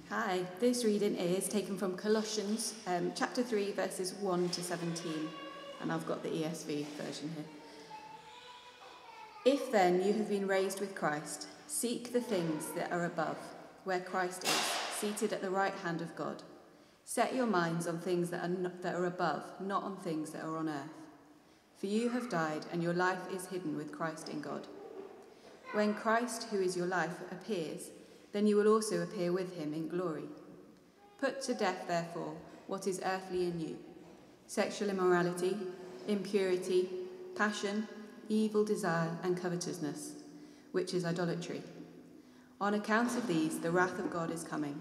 Hi, this reading is taken from Colossians chapter 3 verses 1 to 17, and I've got the ESV version here. If then you have been raised with Christ, seek the things that are above, where Christ is, seated at the right hand of God. Set your minds on things that are above, not on things that are on earth. For you have died, and your life is hidden with Christ in God. When Christ, who is your life, appears, then you will also appear with him in glory. Put to death, therefore, what is earthly in you: sexual immorality, impurity, passion, evil desire, and covetousness, which is idolatry. On account of these, the wrath of God is coming.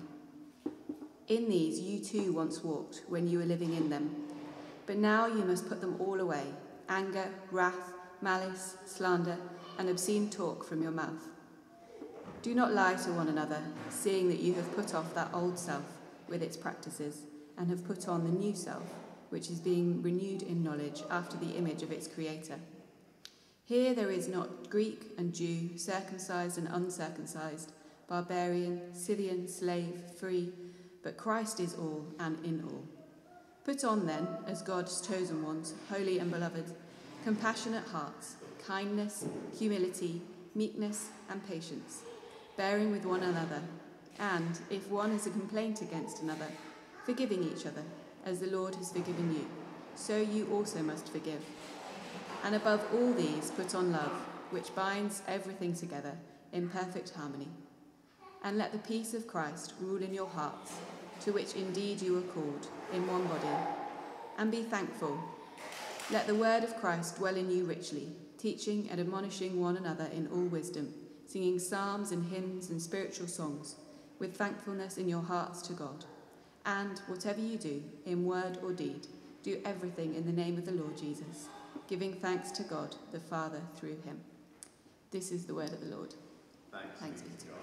In these you too once walked when you were living in them. But now you must put them all away: anger, wrath, malice, slander, and obscene talk from your mouth. Do not lie to one another, seeing that you have put off that old self with its practices, and have put on the new self, which is being renewed in knowledge after the image of its creator. Here there is not Greek and Jew, circumcised and uncircumcised, barbarian, Scythian, slave, free, but Christ is all and in all. Put on then, as God's chosen ones, holy and beloved, compassionate hearts, kindness, humility, meekness, and patience, bearing with one another, and, if one has a complaint against another, forgiving each other, as the Lord has forgiven you, so you also must forgive. And above all these put on love, which binds everything together in perfect harmony. And let the peace of Christ rule in your hearts, to which indeed you are called, in one body. And be thankful. Let the word of Christ dwell in you richly, teaching and admonishing one another in all wisdom, singing psalms and hymns and spiritual songs, with thankfulness in your hearts to God. And whatever you do, in word or deed, do everything in the name of the Lord Jesus, giving thanks to God the Father through him. This is the word of the Lord. Thanks be to God.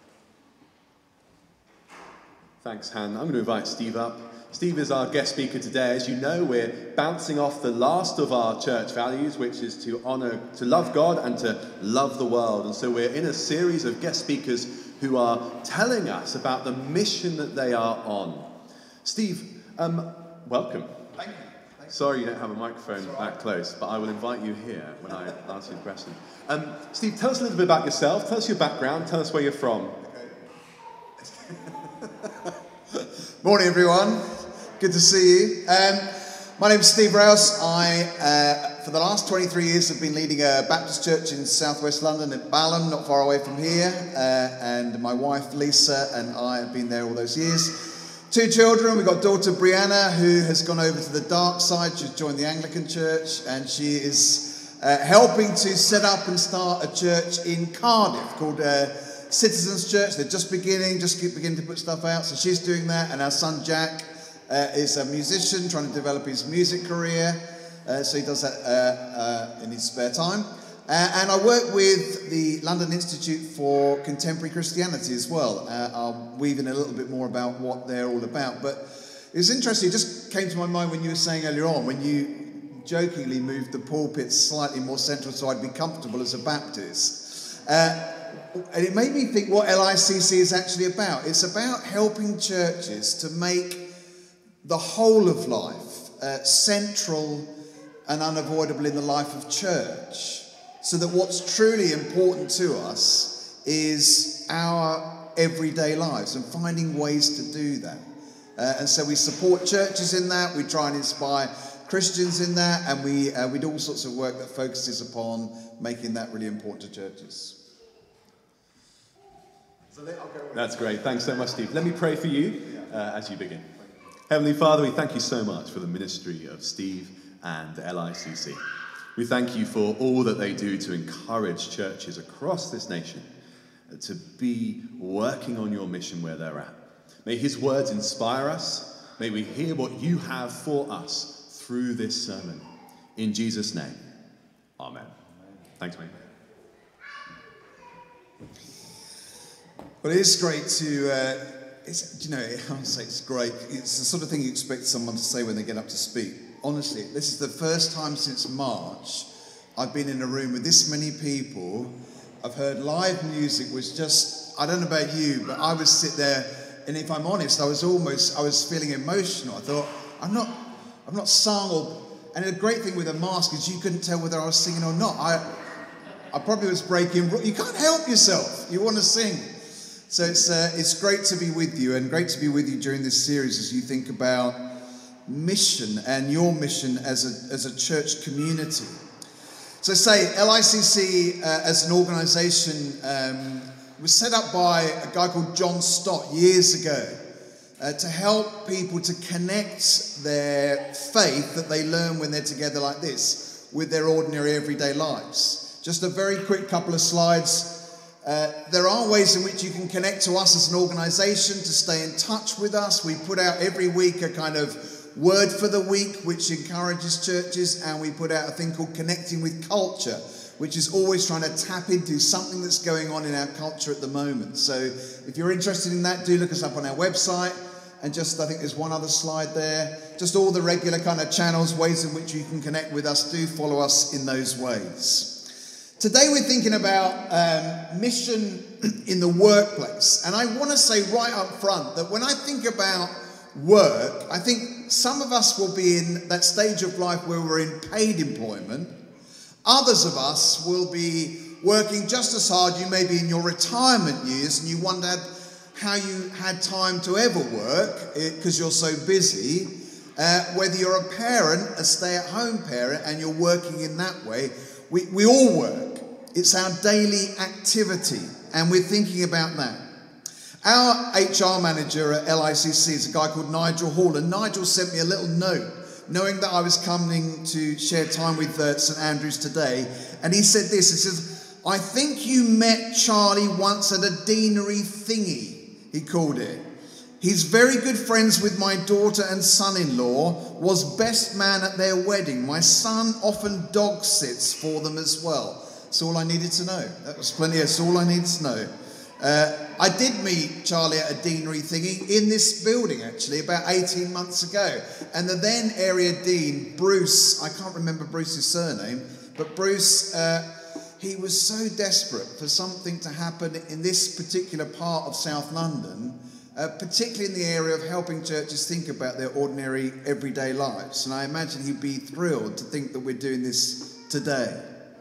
Thanks, Han. I'm going to invite Steve up. Steve is our guest speaker today. As you know, we're bouncing off the last of our church values, which is to love God and to love the world. And so we're in a series of guest speakers who are telling us about the mission that they are on. Steve, welcome. Thank you. Sorry you don't have a microphone that close, but I will invite you here when I ask you the question. Steve, tell us a little bit about yourself. Tell us your background. Tell us where you're from. Morning, everyone. Good to see you. My name's Steve Rouse. I, for the last 23 years, have been leading a Baptist church in southwest London at Balham, not far away from here. And my wife, Lisa, and I have been there all those years. 2 children. We've got daughter Brianna, who has gone over to the dark side. She's joined the Anglican church, and she is helping to set up and start a church in Cardiff called Citizens Church. They're just beginning to put stuff out. So she's doing that. And our son Jack is a musician trying to develop his music career. So he does that in his spare time. And I work with the London Institute for Contemporary Christianity as well. I'll weave in a little bit more about what they're all about. But it was interesting. It just came to my mind when you were saying earlier on, when you jokingly moved the pulpit slightly more central so I'd be comfortable as a Baptist. And it made me think what LICC is actually about. It's about helping churches to make the whole of life central and unavoidable in the life of church, so that what's truly important to us is our everyday lives and finding ways to do that. And so we support churches in that, we try and inspire Christians in that, and we do all sorts of work that focuses upon making that really important to churches. That's great. Thanks so much, Steve. Let me pray for you as you begin. Heavenly Father, we thank you so much for the ministry of Steve and LICC. We thank you for all that they do to encourage churches across this nation to be working on your mission where they're at. May his words inspire us. May we hear what you have for us through this sermon. In Jesus' name, amen. Thanks, mate. Well, it is great to, I would say it's great. It's the sort of thing you expect someone to say when they get up to speak. Honestly, this is the first time since March I've been in a room with this many people. I've heard live music was just, I don't know about you, but I would sit there and if I'm honest, I was feeling emotional. I thought, I'm not sung, and the great thing with a mask is you couldn't tell whether I was singing or not. I probably was breaking. You can't help yourself. You want to sing. So it's great to be with you, and great to be with you during this series as you think about mission and your mission as a church community. So LICC as an organisation was set up by a guy called John Stott years ago to help people to connect their faith that they learn when they're together like this with their ordinary everyday lives. Just a very quick couple of slides. There are ways in which you can connect to us as an organisation, to stay in touch with us. We put out every week a kind of word for the week, which encourages churches, and we put out a thing called Connecting with Culture, which is always trying to tap into something that's going on in our culture at the moment. So if you're interested in that, do look us up on our website. And just, I think there's one other slide there. Just all the regular kind of channels, ways in which you can connect with us. Do follow us in those ways. Today we're thinking about mission in the workplace. And I want to say right up front that when I think about work, I think some of us will be in that stage of life where we're in paid employment. Others of us will be working just as hard. You may be in your retirement years and you wondered how you had time to ever work because you're so busy. Whether you're a parent, a stay-at-home parent, and you're working in that way, we all work. It's our daily activity, and we're thinking about that. Our HR manager at LICC is a guy called Nigel Hall, and Nigel sent me a little note, knowing that I was coming to share time with St Andrews today, and he said this, he says, "I think you met Charlie once at a deanery thingy," he called it. "He's very good friends with my daughter and son-in-law, was best man at their wedding. My son often dog sits for them as well." That's all I needed to know. That was plenty. That's all I needed to know. I did meet Charlie at a deanery thingy in this building, actually, about 18 months ago. And the then area dean, Bruce, I can't remember Bruce's surname, but Bruce, he was so desperate for something to happen in this particular part of South London, particularly in the area of helping churches think about their ordinary, everyday lives. And I imagine he'd be thrilled to think that we're doing this today.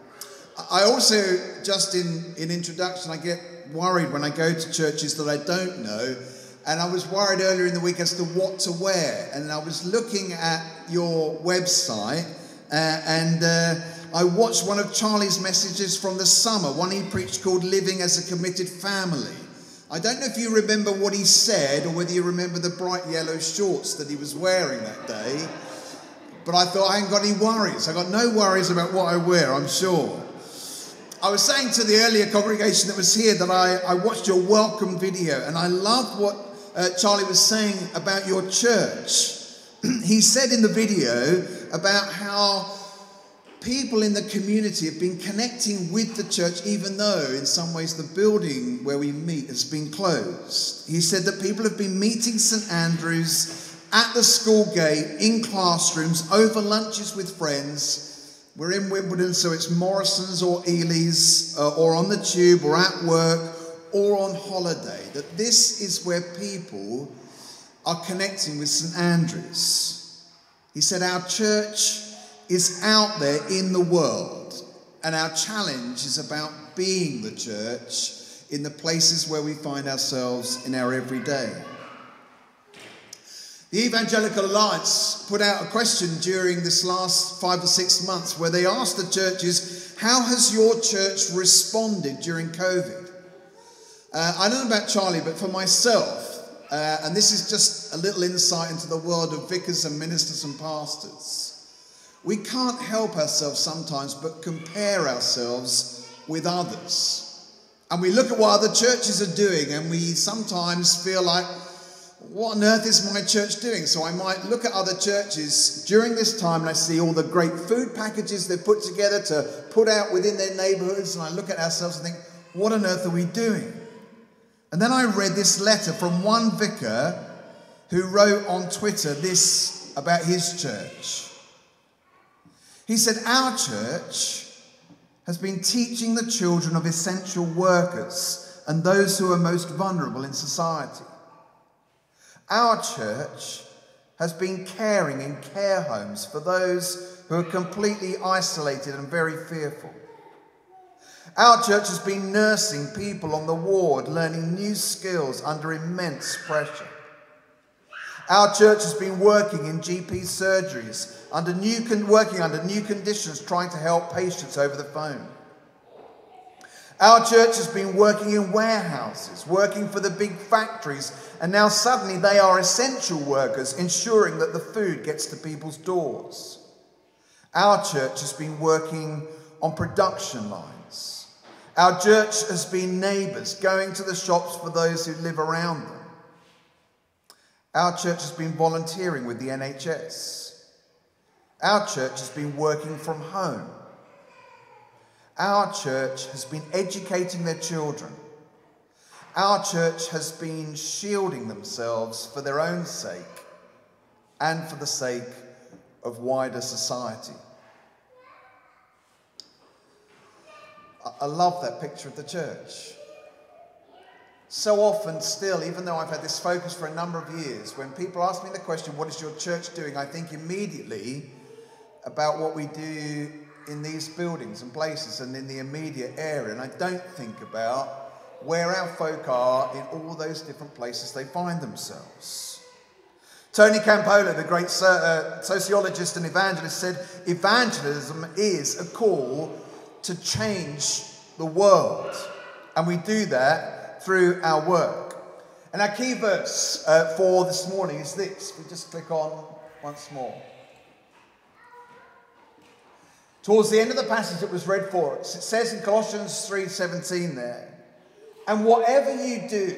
I also, just in introduction, I get worried when I go to churches that I don't know, and I was worried earlier in the week as to what to wear, and I was looking at your website and I watched one of Charlie's messages from the summer, one he preached called Living as a Committed Family. I don't know if you remember what he said or whether you remember the bright yellow shorts that he was wearing that day, but I thought I ain't got any worries. I got no worries about what I wear, I'm sure. I was saying to the earlier congregation that was here that I watched your welcome video, and I loved what Charlie was saying about your church. He said in the video about how people in the community have been connecting with the church, even though in some ways the building where we meet has been closed. He said that people have been meeting St Andrews at the school gate, in classrooms, over lunches with friends. We're in Wimbledon, so it's Morrison's or Ely's, or on the tube, or at work, or on holiday. That this is where people are connecting with St Andrews. He said our church is out there in the world, and our challenge is about being the church in the places where we find ourselves in our everyday. The Evangelical Alliance put out a question during this last 5 or 6 months where they asked the churches, how has your church responded during COVID? I don't know about Charlie, but for myself, and this is just a little insight into the world of vicars and ministers and pastors, we can't help ourselves sometimes but compare ourselves with others. And we look at what other churches are doing and we sometimes feel like, what on earth is my church doing? So I might look at other churches during this time and I see all the great food packages they've put together to put out within their neighbourhoods, and I look at ourselves and think, what on earth are we doing? And then I read this letter from one vicar who wrote on Twitter this about his church. He said, our church has been teaching the children of essential workers and those who are most vulnerable in society. Our church has been caring in care homes for those who are completely isolated and very fearful. Our church has been nursing people on the ward, learning new skills under immense pressure. Our church has been working in GP surgeries, working under new conditions, trying to help patients over the phone. Our church has been working in warehouses, working for the big factories, and now suddenly they are essential workers, ensuring that the food gets to people's doors. Our church has been working on production lines. Our church has been neighbours, going to the shops for those who live around them. Our church has been volunteering with the NHS. Our church has been working from home. Our church has been educating their children. Our church has been shielding themselves for their own sake and for the sake of wider society. I love that picture of the church. So often still, even though I've had this focus for a number of years, when people ask me the question, what is your church doing? I think immediately about what we do in these buildings and places and in the immediate area. And I don't think about where our folk are in all those different places they find themselves. Tony Campolo, the great sociologist and evangelist, said evangelism is a call to change the world. And we do that through our work. And our key verse for this morning is this. We just click on once more. Towards the end of the passage that was read for us, it says in Colossians 3:17 there, and whatever you do,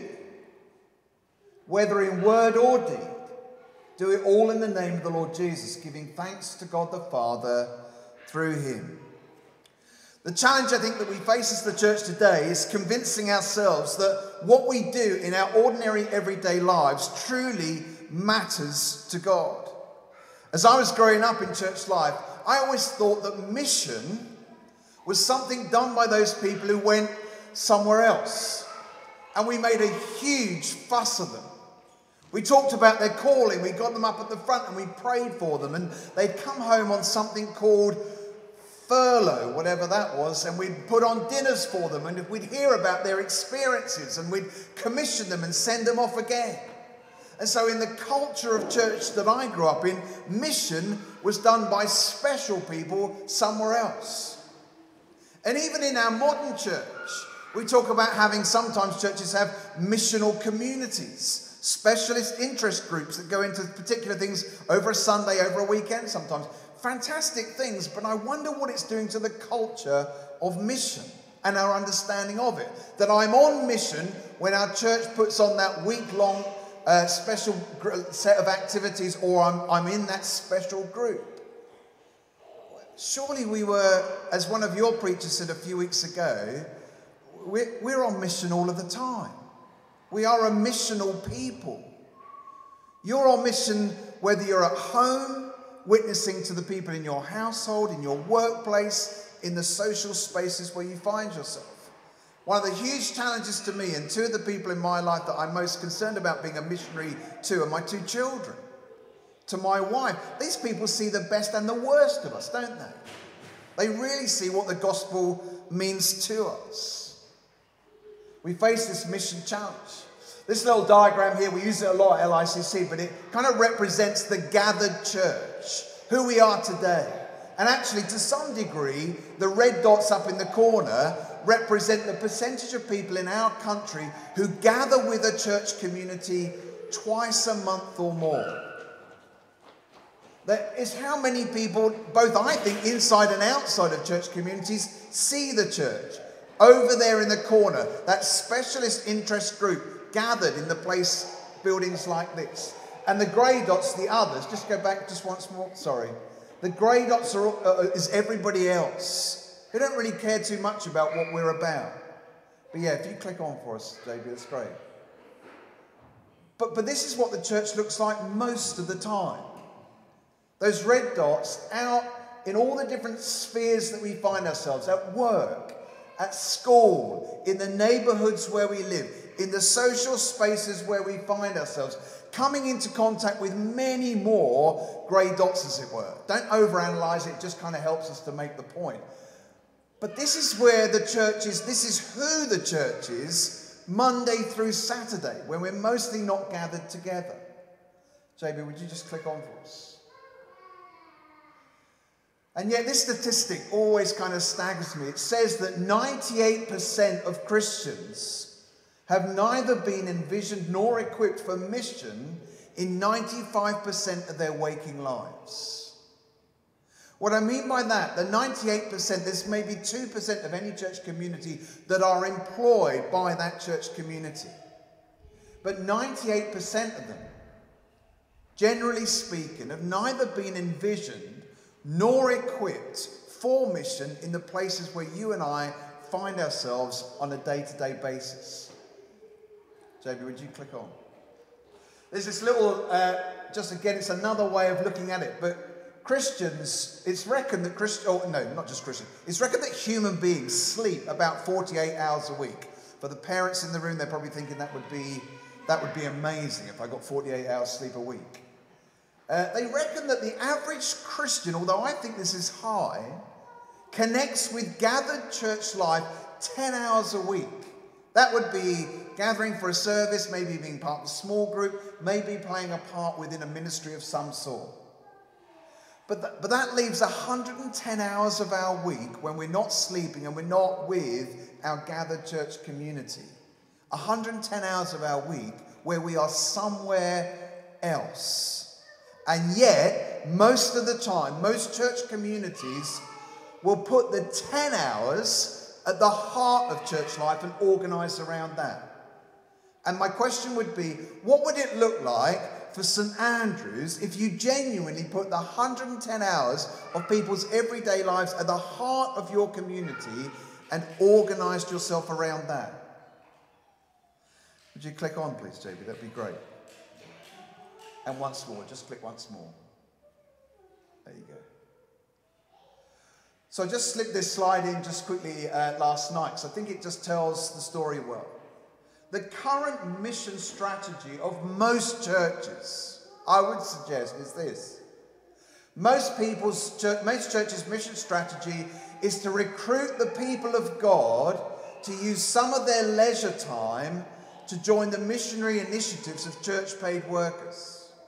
whether in word or deed, do it all in the name of the Lord Jesus, giving thanks to God the Father through him. The challenge I think that we face as the church today is convincing ourselves that what we do in our ordinary everyday lives truly matters to God. As I was growing up in church life, I always thought that mission was something done by those people who went somewhere else. And we made a huge fuss of them. We talked about their calling, we got them up at the front and we prayed for them. And they'd come home on something called furlough, whatever that was, and we'd put on dinners for them and we'd hear about their experiences and we'd commission them and send them off again. And so in the culture of church that I grew up in, mission was done by special people somewhere else. And even in our modern church, we talk about having, sometimes churches have missional communities, specialist interest groups that go into particular things over a Sunday, over a weekend sometimes. Fantastic things, but I wonder what it's doing to the culture of mission and our understanding of it. That I'm on mission when our church puts on that week-long special set of activities, or I'm in that special group. Surely we were, as one of your preachers said a few weeks ago, we're on mission all of the time. We are a missional people. You're on mission whether you're at home, witnessing to the people in your household, in your workplace, in the social spaces where you find yourself. One of the huge challenges to me, and two of the people in my life that I'm most concerned about being a missionary to, are my two children. To my wife, these people see the best and the worst of us, don't they? They really see what the gospel means to us. We face this mission challenge. This little diagram here, we use it a lot at LICC, but it kind of represents the gathered church, who we are today. And actually, to some degree, the red dots up in the corner represent the percentage of people in our country who gather with a church community twice a month or more. That is how many people, both I think inside and outside of church communities, see the church. Over there in the corner, that specialist interest group gathered in the place, buildings like this. And the grey dots, the others, just go back just once more, sorry. The grey dots is everybody else. Who don't really care too much about what we're about. But yeah, if you click on for us, David, that's great. But this is what the church looks like most of the time. Those red dots out in all the different spheres that we find ourselves, at work, at school, in the neighbourhoods where we live, in the social spaces where we find ourselves, coming into contact with many more grey dots, as it were. Don't overanalyze it, just kind of helps us to make the point. But this is where the church is, this is who the church is, Monday through Saturday, when we're mostly not gathered together. JB, would you just click on for us? And yet this statistic always kind of staggers me. It says that 98% of Christians have neither been envisioned nor equipped for mission in 95% of their waking lives. What I mean by that, the 98%, there's maybe 2% of any church community that are employed by that church community. But 98% of them, generally speaking, have neither been envisioned nor equipped for mission in the places where you and I find ourselves on a day-to-day basis. JB, would you click on? There's this little, just again, it's another way of looking at it, but Christians, it's reckoned that it's reckoned that human beings sleep about 48 hours a week. For the parents in the room, they're probably thinking that would be amazing if I got 48 hours sleep a week. They reckon that the average Christian, although I think this is high, connects with gathered church life 10 hours a week. That would be gathering for a service, maybe being part of a small group, maybe playing a part within a ministry of some sort. But that leaves 110 hours of our week when we're not sleeping and we're not with our gathered church community. 110 hours of our week where we are somewhere else. And yet, most of the time, most church communities will put the 10 hours at the heart of church life and organise around that. And my question would be, what would it look like for St Andrews if you genuinely put the 110 hours of people's everyday lives at the heart of your community and organised yourself around that? Would you click on, please, JB? That'd be great. And once more, just click once more. There you go. So I just slipped this slide in just quickly last night, because I think it just tells the story well. The current mission strategy of most churches, I would suggest, is this. Most churches' mission strategy is to recruit the people of God to use some of their leisure time to join the missionary initiatives of church-paid workers.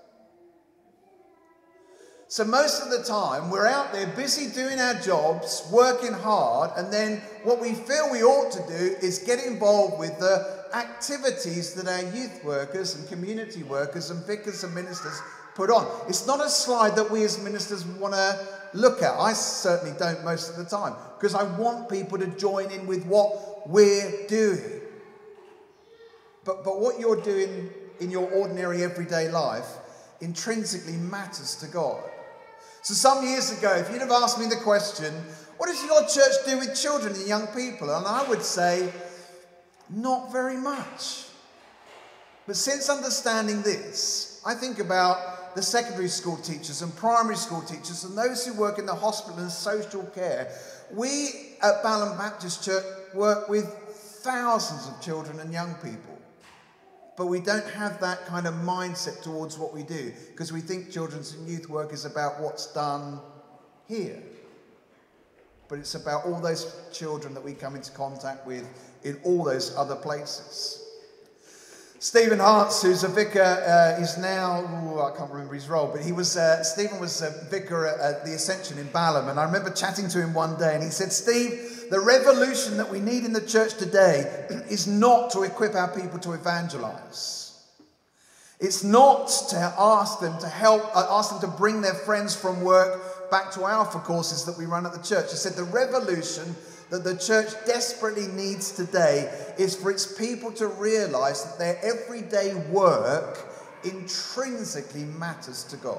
So most of the time, we're out there busy doing our jobs, working hard, and then what we feel we ought to do is get involved with the activities that our youth workers and community workers and vicars and ministers put on. It's not a slide that we as ministers want to look at. I certainly don't most of the time, because I want people to join in with what we're doing. But what you're doing in your ordinary everyday life intrinsically matters to God. So some years ago, if you'd have asked me the question, what does your church do with children and young people? And I would say, not very much. But since understanding this, I think about the secondary school teachers and primary school teachers and those who work in the hospital and social care. We at Balham Baptist Church work with thousands of children and young people. But we don't have that kind of mindset towards what we do, because we think children's and youth work is about what's done here. But it's about all those children that we come into contact with in all those other places. Stephen Hartz, who's a vicar, is now, I can't remember his role, but Stephen was a vicar at the Ascension in Balham, and I remember chatting to him one day, and he said, Steve, the revolution that we need in the church today is not to equip our people to evangelize. It's not to ask them to bring their friends from work back to Alpha courses that we run at the church. He said the revolution that the church desperately needs today is for its people to realize that their everyday work intrinsically matters to God.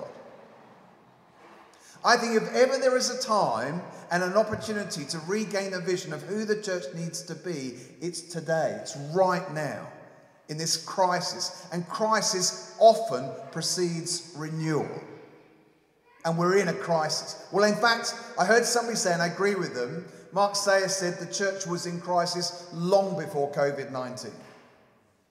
I think if ever there is a time and an opportunity to regain a vision of who the church needs to be, it's today. It's right now in this crisis. And crisis often precedes renewal. And we're in a crisis. Well, in fact, I heard somebody say, and I agree with them, Mark Sayers said the church was in crisis long before COVID-19.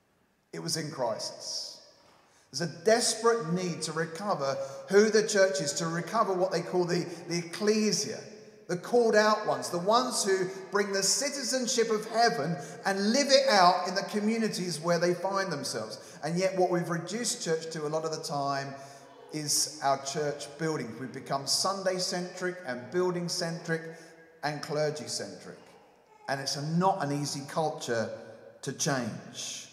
it was in crisis. There's a desperate need to recover who the church is, to recover what they call the ecclesia, the called out ones, the ones who bring the citizenship of heaven and live it out in the communities where they find themselves. And yet what we've reduced church to a lot of the time is our church buildings. We've become Sunday-centric and building-centric and clergy-centric. And it's not an easy culture to change.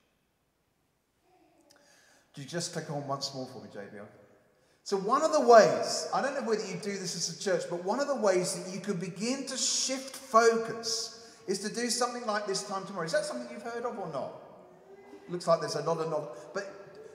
Do you just click on once more for me, JBL? So one of the ways, I don't know whether you do this as a church, but one of the ways that you could begin to shift focus is to do something like this time tomorrow. Is that something you've heard of or not? Looks like there's a lot of nod. But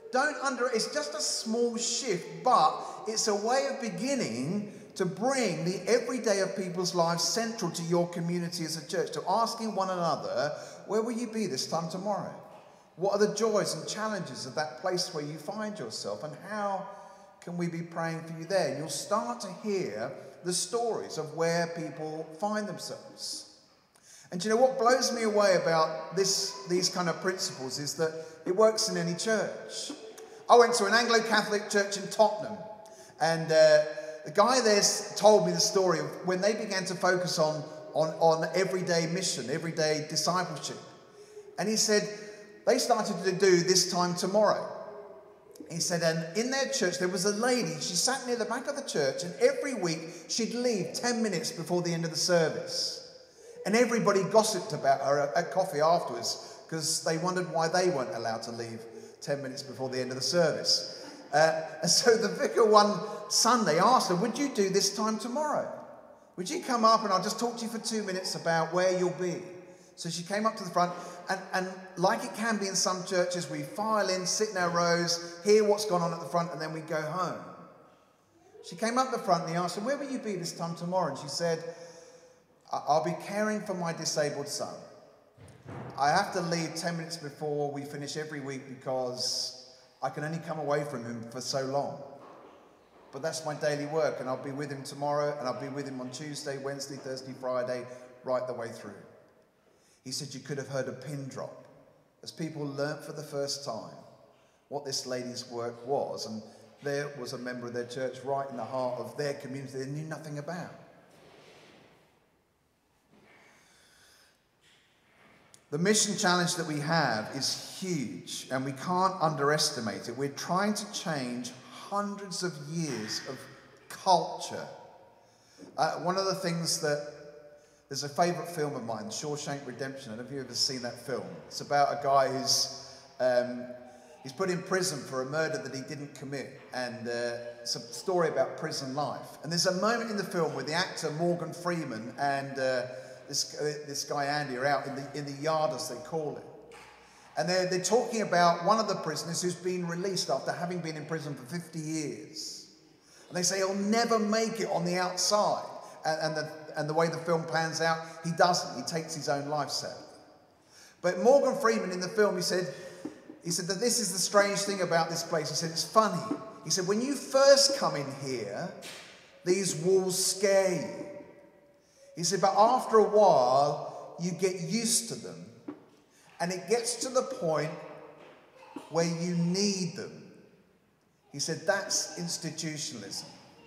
it's just a small shift, but it's a way of beginning to bring the everyday of people's lives central to your community as a church, to asking one another, where will you be this time tomorrow? What are the joys and challenges of that place where you find yourself, and how can we be praying for you there? And you'll start to hear the stories of where people find themselves. And do you know what blows me away about these kind of principles is that it works in any church. I went to an Anglo-Catholic church in Tottenham, and the guy there told me the story of when they began to focus on everyday mission, everyday discipleship. And he said they started to do this time tomorrow. He said, and in their church there was a lady, she sat near the back of the church, and every week she'd leave 10 minutes before the end of the service. And everybody gossiped about her at coffee afterwards because they wondered why they weren't allowed to leave 10 minutes before the end of the service. And so the vicar one Sunday asked her, would you do this time tomorrow? Would you come up and I'll just talk to you for 2 minutes about where you'll be? So she came up to the front, and like it can be in some churches, we file in, sit in our rows, hear what's gone on at the front, and then we go home. She came up the front and he asked her, where will you be this time tomorrow? And she said, I'll be caring for my disabled son. I have to leave 10 minutes before we finish every week because I can only come away from him for so long. But that's my daily work, and I'll be with him tomorrow, and I'll be with him on Tuesday, Wednesday, Thursday, Friday, right the way through. He said you could have heard a pin drop as people learnt for the first time what this lady's work was, and there was a member of their church right in the heart of their community they knew nothing about. The mission challenge that we have is huge, and we can't underestimate it. We're trying to change hundreds of years of culture. One of the things that, there's a favourite film of mine, Shawshank Redemption. I don't know if you've ever seen that film. It's about a guy who's he's put in prison for a murder that he didn't commit, and it's a story about prison life. And there's a moment in the film where the actor Morgan Freeman and this guy Andy are out in the yard, as they call it. And they're talking about one of the prisoners who's been released after having been in prison for 50 years. And they say he'll never make it on the outside. And the way the film plans out, he doesn't. He takes his own life, sadly. But Morgan Freeman in the film, he said that this is the strange thing about this place. He said, it's funny. He said, when you first come in here, these walls scare you. He said, but after a while, you get used to them. And it gets to the point where you need them. He said, that's institutionalism.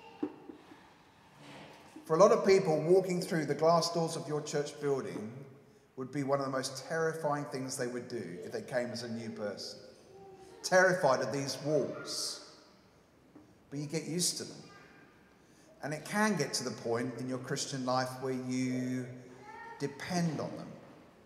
For a lot of people, walking through the glass doors of your church building would be one of the most terrifying things they would do if they came as a new person. Terrified of these walls. But you get used to them. And it can get to the point in your Christian life where you depend on them.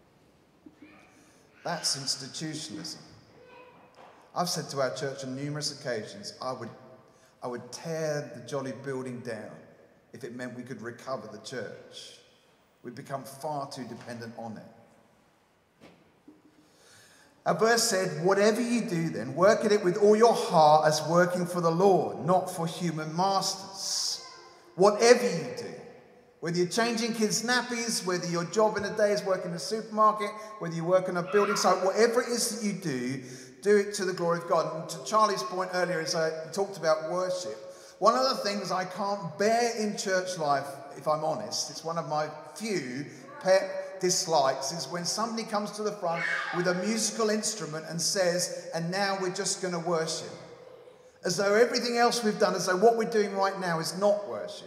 That's institutionalism. I've said to our church on numerous occasions, I would tear the jolly building down if it meant we could recover the church. We've become far too dependent on it. Our verse said, whatever you do then, work at it with all your heart as working for the Lord, not for human masters. Whatever you do, whether you're changing kids' nappies, whether your job in a day is working in a supermarket, whether you work on a building site, whatever it is that you do it to the glory of God. And to Charlie's point earlier, as I talked about worship, one of the things I can't bear in church life, if I'm honest, it's one of my few pet dislikes is when somebody comes to the front with a musical instrument and says, and now we're just going to worship. As though everything else we've done, as though what we're doing right now is not worship.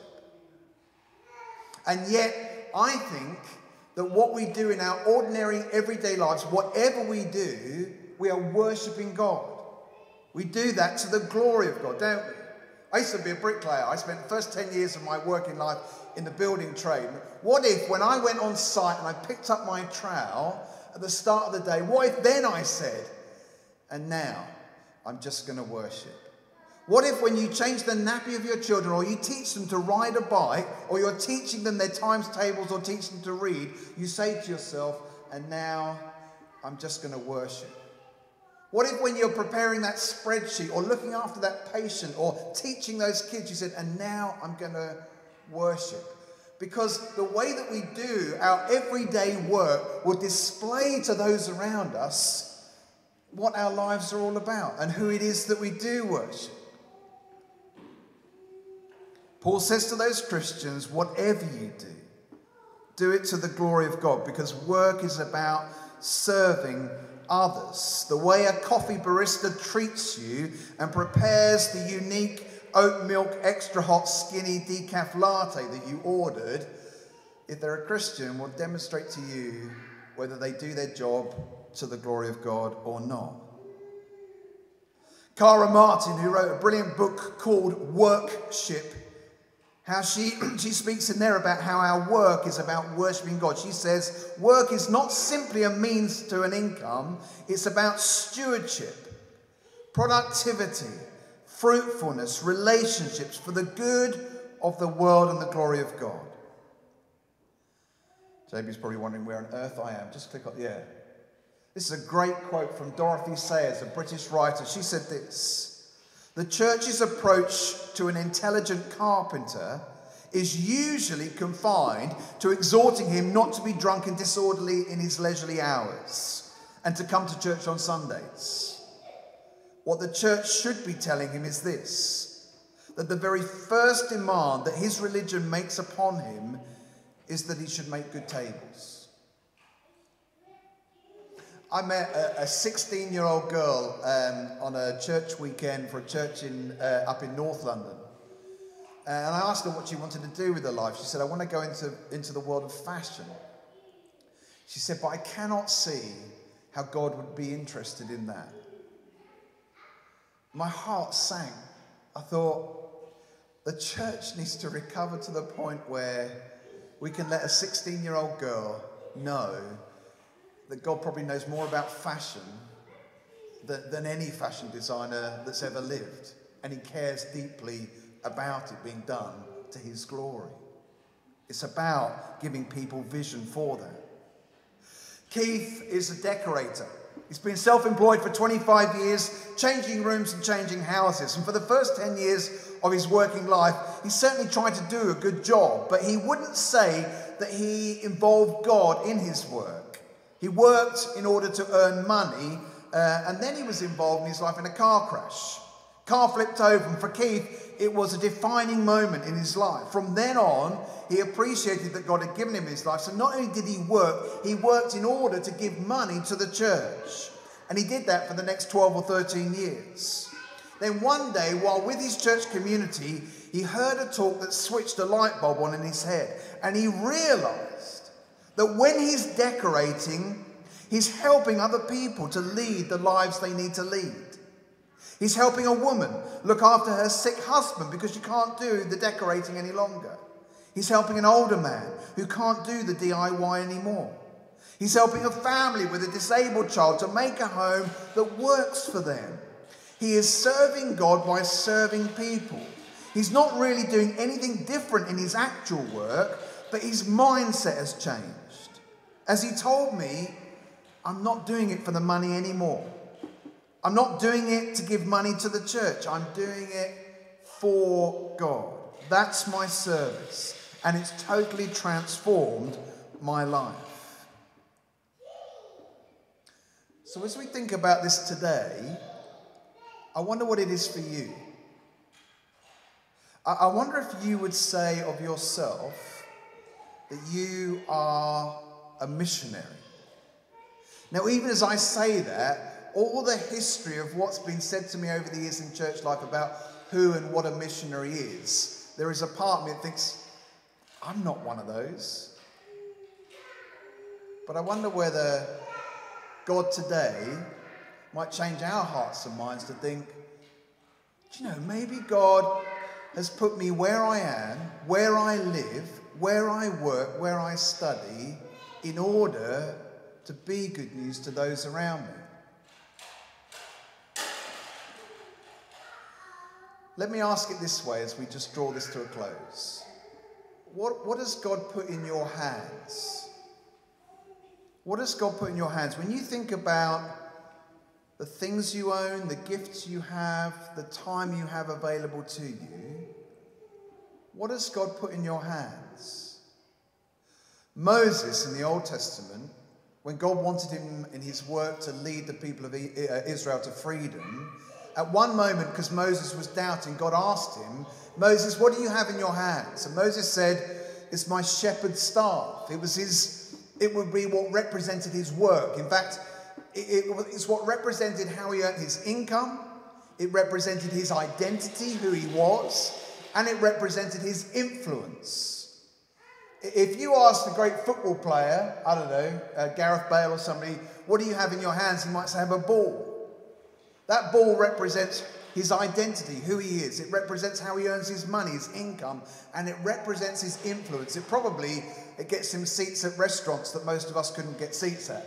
And yet, I think that what we do in our ordinary, everyday lives, whatever we do, we are worshipping God. We do that to the glory of God, don't we? I used to be a bricklayer. I spent the first 10 years of my working life in the building trade. What if, when I went on site and I picked up my trowel at the start of the day, what if then I said, and now I'm just going to worship? What if when you change the nappy of your children, or you teach them to ride a bike, or you're teaching them their times tables or teaching them to read, you say to yourself, and now I'm just going to worship? What if when you're preparing that spreadsheet or looking after that patient or teaching those kids, you said, and now I'm going to worship? Because the way that we do our everyday work will display to those around us what our lives are all about and who it is that we do worship. Paul says to those Christians, whatever you do it to the glory of God, because work is about serving others. The way a coffee barista treats you and prepares the unique oat milk extra hot skinny decaf latte that you ordered, if they're a Christian, will demonstrate to you whether they do their job to the glory of God or not. Cara Martin, who wrote a brilliant book called Workship, how she speaks in there about how our work is about worshipping God. She says, work is not simply a means to an income, it's about stewardship, productivity, fruitfulness, relationships for the good of the world and the glory of God. JB's probably wondering where on earth I am. Just click on, yeah. This is a great quote from Dorothy Sayers, a British writer. She said this: the church's approach to an intelligent carpenter is usually confined to exhorting him not to be drunk and disorderly in his leisurely hours and to come to church on Sundays. What the church should be telling him is this: that the very first demand that his religion makes upon him is that he should make good tables. I met a 16-year-old girl on a church weekend for a church up in North London. And I asked her what she wanted to do with her life. She said, I want to go into the world of fashion. She said, but I cannot see how God would be interested in that. My heart sank. I thought, the church needs to recover to the point where we can let a 16-year-old girl know that God probably knows more about fashion than any fashion designer that's ever lived. And he cares deeply about it being done to his glory. It's about giving people vision for that. Keith is a decorator. He's been self-employed for 25 years, changing rooms and changing houses. And for the first 10 years of his working life, he certainly tried to do a good job, but he wouldn't say that he involved God in his work. He worked in order to earn money, and then he was involved in his life in a car crash. Car flipped over, and for Keith, it was a defining moment in his life. From then on, he appreciated that God had given him his life. So not only did he worked in order to give money to the church. And he did that for the next 12 or 13 years. Then one day, while with his church community, he heard a talk that switched a light bulb on in his head. And he realized that when he's decorating, he's helping other people to lead the lives they need to lead. He's helping a woman look after her sick husband because she can't do the decorating any longer. He's helping an older man who can't do the DIY anymore. He's helping a family with a disabled child to make a home that works for them. He is serving God by serving people. He's not really doing anything different in his actual work, but his mindset has changed. As he told me, I'm not doing it for the money anymore. I'm not doing it to give money to the church. I'm doing it for God. That's my service. And it's totally transformed my life. So as we think about this today, I wonder what it is for you. I wonder if you would say of yourself that you are a missionary. Now, even as I say that, all the history of what's been said to me over the years in church life about who and what a missionary is, there is a part of me that thinks, I'm not one of those. But I wonder whether God today might change our hearts and minds to think, do you know, maybe God has put me where I am, where I live, where I work, where I study, in order to be good news to those around me. Let me ask it this way as we just draw this to a close. What has God put in your hands? What has God put in your hands? When you think about the things you own, the gifts you have, the time you have available to you, what has God put in your hands? Moses in the Old Testament, when God wanted him in his work to lead the people of Israel to freedom, at one moment, because Moses was doubting, God asked him, Moses, what do you have in your hands? And Moses said, it's my shepherd's staff. It would be what represented his work. In fact, it's what represented how he earned his income. It represented his identity, who he was, and it represented his influence. If you ask the great football player, I don't know, Gareth Bale or somebody, what do you have in your hands? He might say, I have a ball. That ball represents his identity, who he is. It represents how he earns his money, his income, and it represents his influence. It gets him seats at restaurants that most of us couldn't get seats at.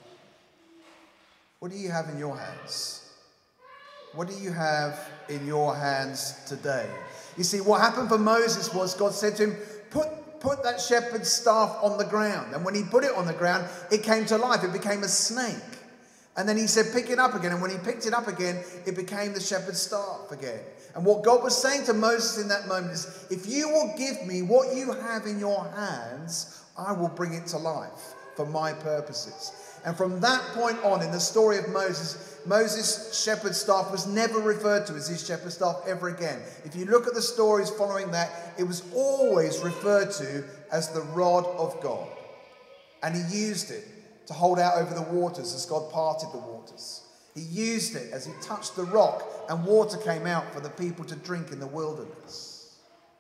What do you have in your hands? What do you have in your hands today? You see, what happened for Moses was God said to him, put that shepherd's staff on the ground. And when he put it on the ground, it came to life. It became a snake. And then he said, pick it up again. And when he picked it up again, it became the shepherd's staff again. And what God was saying to Moses in that moment is, if you will give me what you have in your hands, I will bring it to life for my purposes. And from that point on in the story of Moses' shepherd's staff was never referred to as his shepherd's staff ever again. If you look at the stories following that, it was always referred to as the rod of God. And he used it to hold out over the waters as God parted the waters. He used it as he touched the rock and water came out for the people to drink in the wilderness.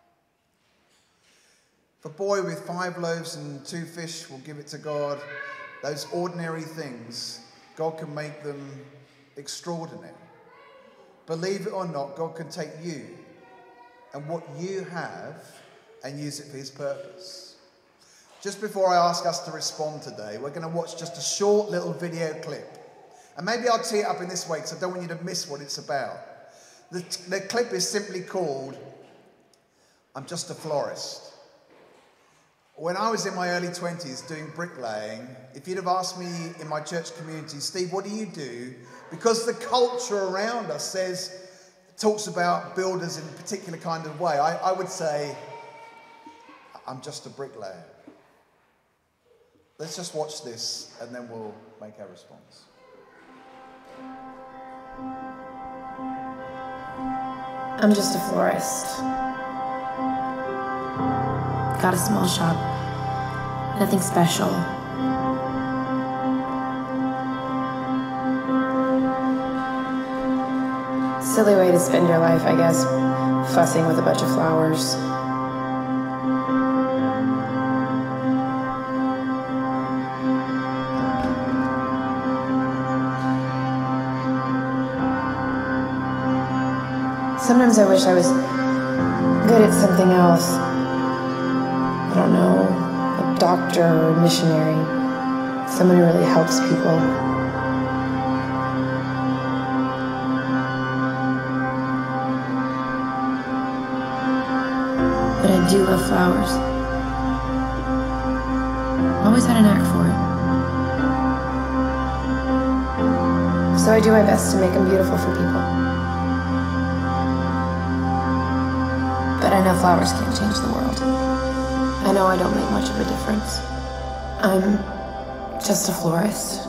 If a boy with 5 loaves and 2 fish will give it to God, those ordinary things, God can make them extraordinary. Believe it or not, God can take you and what you have and use it for his purpose. Just before I ask us to respond today, we're going to watch just a short little video clip. And maybe I'll tee it up in this way because I don't want you to miss what it's about. The clip is simply called, I'm Just a Florist. When I was in my early 20s doing bricklaying, if you'd have asked me in my church community, Steve, what do you do? Because the culture around us talks about builders in a particular kind of way, I would say, I'm just a bricklayer. Let's just watch this and then we'll make our response. I'm just a florist. Got a small shop. Nothing special. Silly way to spend your life, I guess, fussing with a bunch of flowers. Sometimes I wish I was good at something else. I don't know, a doctor or a missionary, someone who really helps people. But I do love flowers. Always had a knack for it. So I do my best to make them beautiful for people. But I know flowers can't change the world. I know I don't make much of a difference. I'm just a florist.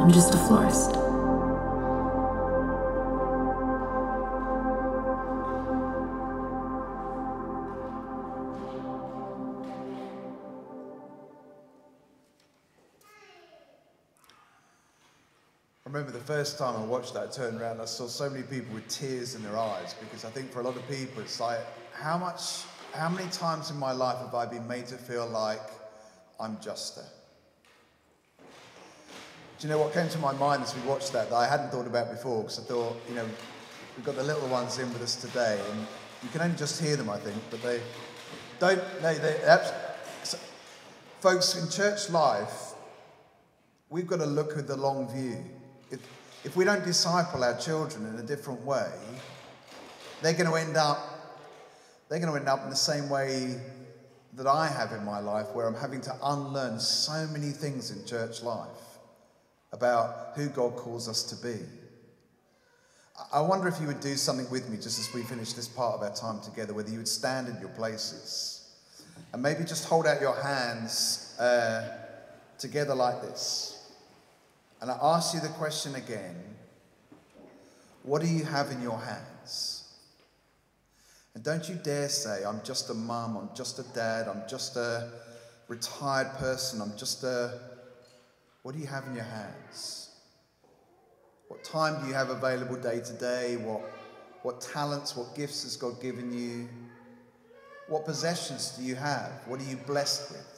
I'm just a florist. I remember the first time I watched that, I turned around and I saw so many people with tears in their eyes, because I think for a lot of people it's like, how many times in my life have I been made to feel like I'm just a... Do you know what came to my mind as we watched that I hadn't thought about before? Because I thought, we've got the little ones in with us today, and you can only just hear them, I think, but they don't... Folks, in church life, we've got to look at the long view. If we don't disciple our children in a different way, they're going to end up in the same way that I have in my life, where I'm having to unlearn so many things in church life about who God calls us to be. I wonder if you would do something with me just as we finish this part of our time together, whether you would stand in your places and maybe just hold out your hands together like this. And I ask you the question again, what do you have in your hands? And don't you dare say, I'm just a mum, I'm just a dad, I'm just a retired person, I'm just a... What do you have in your hands? What time do you have available day to day? What talents, what gifts has God given you? What possessions do you have? What are you blessed with?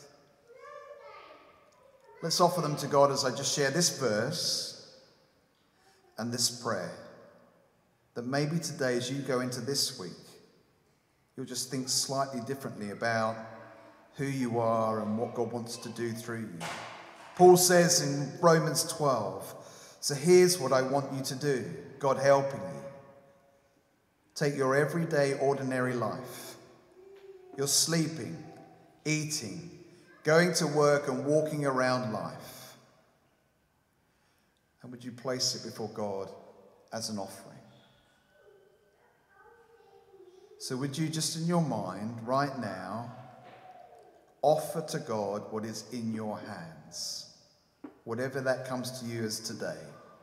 Let's offer them to God as I just share this verse and this prayer. That maybe today, as you go into this week, you'll just think slightly differently about who you are and what God wants to do through you. Paul says in Romans 12, so here's what I want you to do, God helping you. Take your everyday, ordinary life. You're sleeping, eating, going to work and walking around life. And would you place it before God as an offering? So would you just in your mind right now offer to God what is in your hands, whatever that comes to you as today.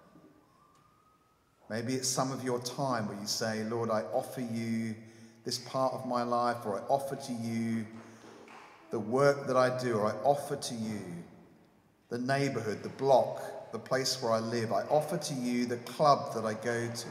Maybe it's some of your time where you say, Lord, I offer you this part of my life, or I offer to you the work that I do, or I offer to you the neighborhood, the block, the place where I live. I offer to you the club that I go to.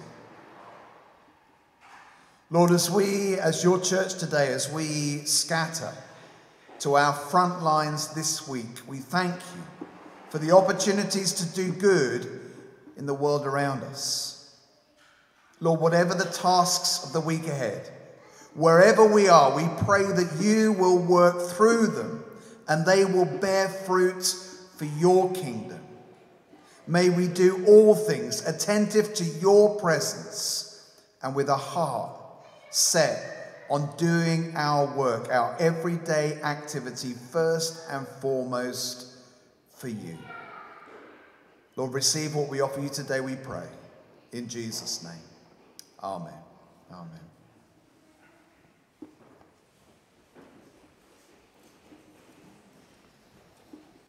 Lord, as we, as your church today, as we scatter to our front lines this week, we thank you for the opportunities to do good in the world around us. Lord, whatever the tasks of the week ahead, wherever we are, we pray that you will work through them and they will bear fruit for your kingdom. May we do all things attentive to your presence and with a heart set on doing our work, our everyday activity, first and foremost for you. Lord, receive what we offer you today, we pray. In Jesus' name. Amen. Amen.